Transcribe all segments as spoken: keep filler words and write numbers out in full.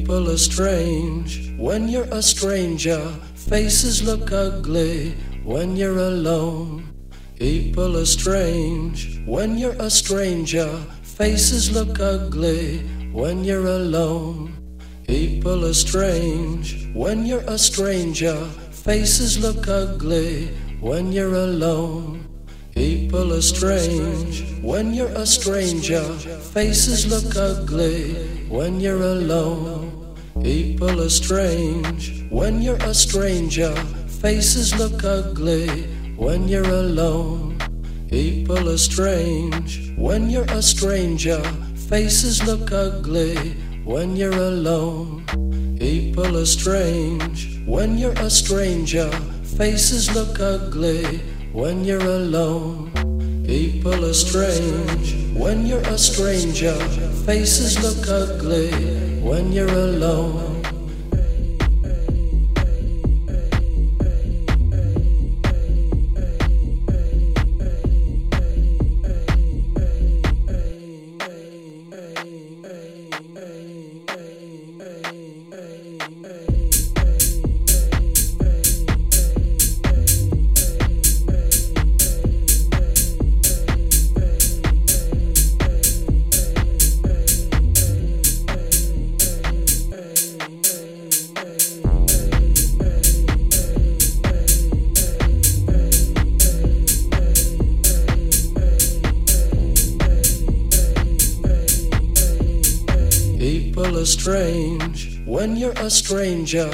People are strange when you're a stranger. Faces look ugly when you're alone. People are strange when you're a stranger. Faces look ugly when you're alone. People are strange when you're a stranger. Faces look ugly when you're alone. People are strange when you're a stranger. Faces look ugly when you're alone. People are strange when you're a stranger. Faces look ugly when you're alone. People are strange when you're a stranger. Faces look ugly when you're alone. People are strange when you're a stranger. Faces look ugly when you're alone. People are strange when you're a stranger. Faces look ugly when you're alone. People are strange when you're a stranger.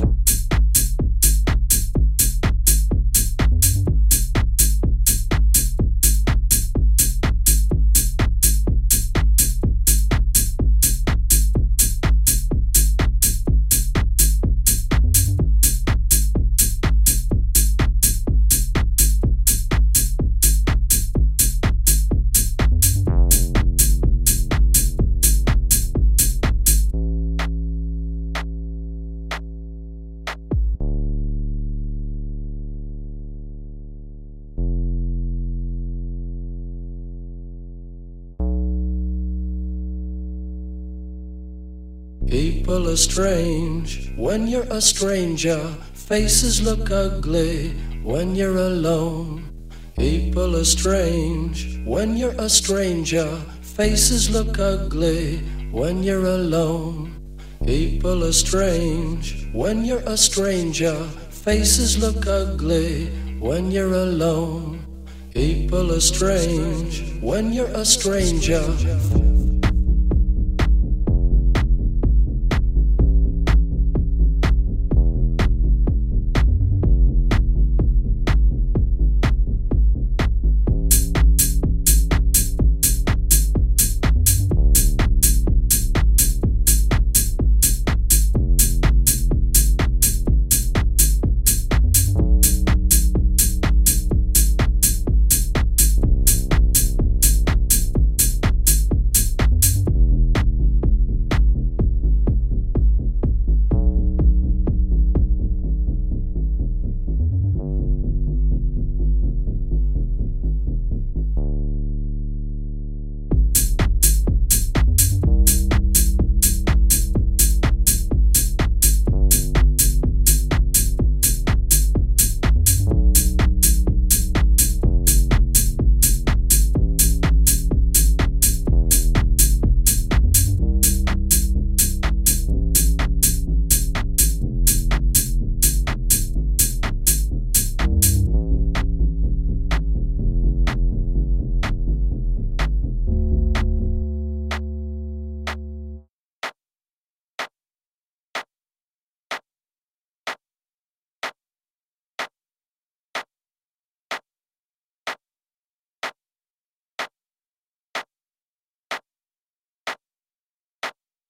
People are strange when you're a stranger. Faces look ugly when you're alone. People are strange when you're a stranger. Faces look ugly when you're alone. People are strange when you're a stranger. Faces look ugly when you're alone. People are strange when you're a stranger.